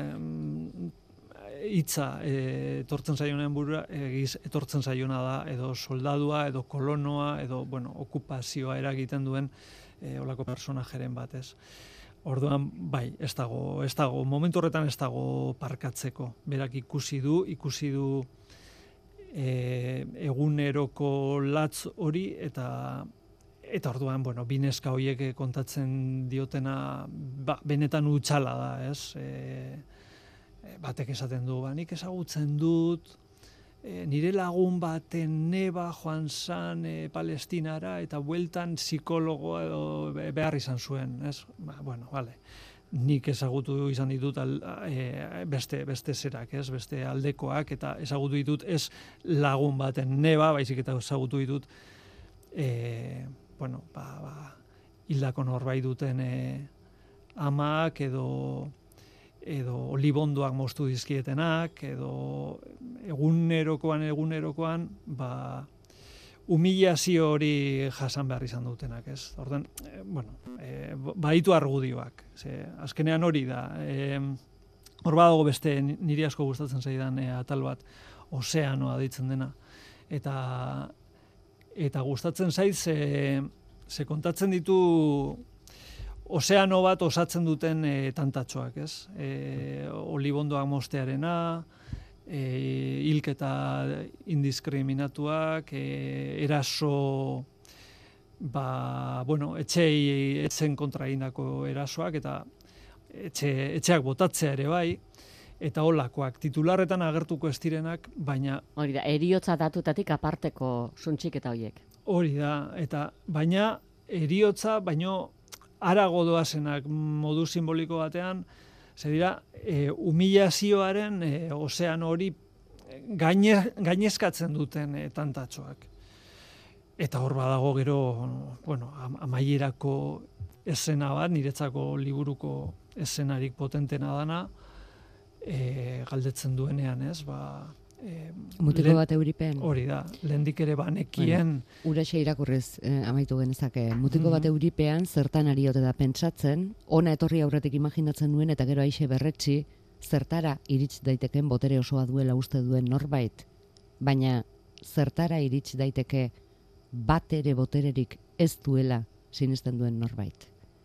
hitza e, etortzen zaionean burura, egiz etortzen zaiona da, edo soldadua, edo kolonoa, edo, bueno, okupazioa eragiten duen e, olako personajeren bat, ez. Orduan, bai, ez dago, ez dago, momentu horretan ez dago parkatzeko. Berak ikusi du, ikusi du e, eguneroko latz hori, eta eta orduan, bueno, bineska horiek kontatzen diotena, ba, benetan utxala da, ez. E, batek esaten du, ba, nik ezagutzen dut, e, nire lagun baten neba joan zan e, Palestinara, eta bueltan psikologoa edo behar izan zuen, ez? Ba, bueno, vale. Nik ezagutu izan ditut al, e, beste, beste zerak, ez? Beste aldekoak, eta ezagutu ditut ez lagun baten neba, baizik eta ezagutu ditut, e, bueno, ba, ba, hildako norbait duten e, amak edo edo olibondoak moztu dizkietenak, edo egunerokoan, egunerokoan, ba, humilazio hori jasan behar izan dutenak, ez? Orduan, e, bueno, e, baditu argudioak, ze, azkenean hori da, e, hor badago beste niri asko gustatzen zaidan e, atal bat, ozeanoa deitzen dena, eta eta gustatzen zait, ze, ze kontatzen ditu ozeano bat osatzen duten e, tantatxoak, ez? E, olibondoak mostearena, e, hilketa indiskriminatuak, e, eraso, ba, bueno, etxei, etzen kontra egindako erasoak, eta etxe, etxeak botatzea ere bai, eta holakoak, titularretan agertuko ez direnak, baina... Hori da, eriotza datutatik aparteko suntxik eta hoiek. Hori da, eta baina eriotza, baino arago doazenak modu simboliko batean, ze dira, e, humilazioaren e, ozeano hori gaine, gainezkatzen duten e, tantatxoak. Eta hor badago gero, bueno, amaierako esena bat, niretzako liburuko esenarik potentena dana, e, galdetzen duenean, ez, ba... E, Mutiko bat euripen. Hori da, lehendik ere banekien... Bueno, uraxe irakurrez eh, amaitu genezake. Mutiko bat euripean zertan ari ote da pentsatzen, ona etorri aurretik imaginatzen nuen eta gero aixe berretsi, zertara irits daiteken botere osoa duela uste duen norbait, baina zertara irits daiteke bat ere botererik ez duela sinesten duen norbait.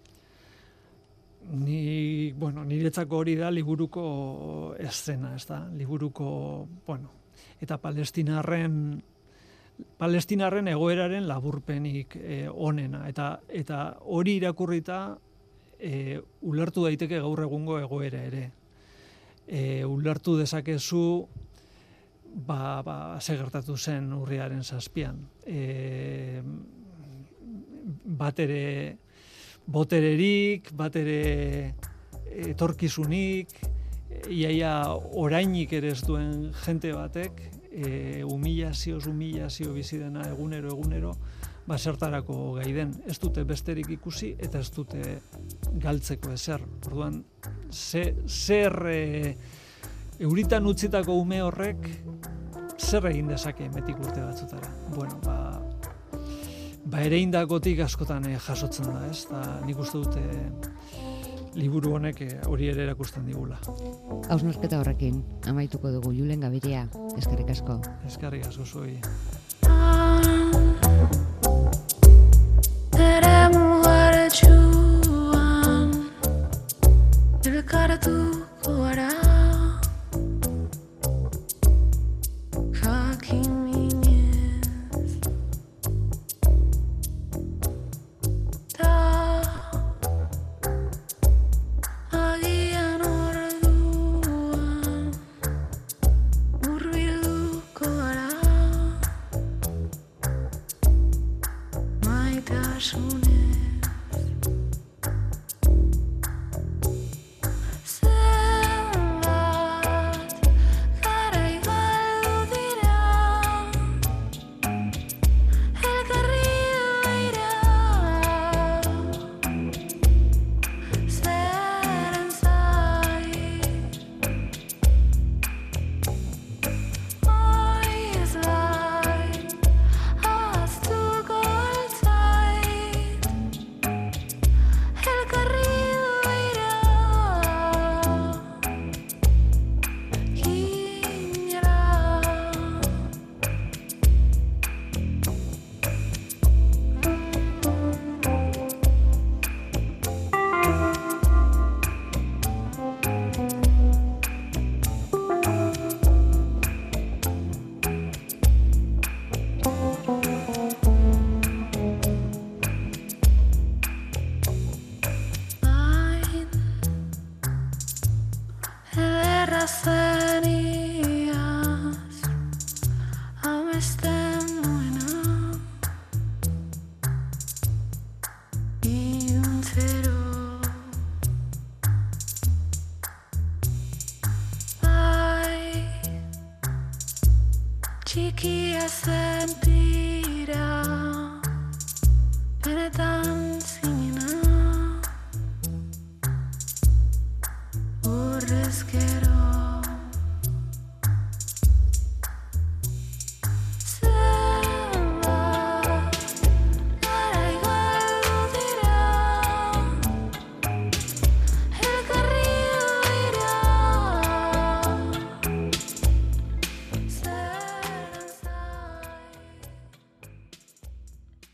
Ni, bueno, niretzako hori da liburuko eszena, ez da? Liburuko, bueno, eta palestinarren palestinarren egoeraren laburpenik eh, onena, eta eta hori irakurrita eh, ulertu daiteke gaur egungo egoera ere. e, ulertu dezakezu ba, ba, ze gertatu zen urriaren zazpian. E, bat ere botererik, bat ere etorkizunik, iaia orainik ere ez duen jente batek, e, humilazioz humilazio bizi dena egunero egunero, ba zertarako gai den. Ez dute besterik ikusi eta ez dute galtzeko ezer. Orduan, ze, zer e, euritan utzitako ume horrek zer egin dezake metik urte batzutara. Bueno, ba, ba ere indakotik askotan eh, jasotzen da, ez? Da, nik uste dute liburu honek hori ere erakusten digula. Hausnarketa horrekin, amaituko dugu Julen Gabiria, eskerrik asko. Eskerrik asko zuei. Soon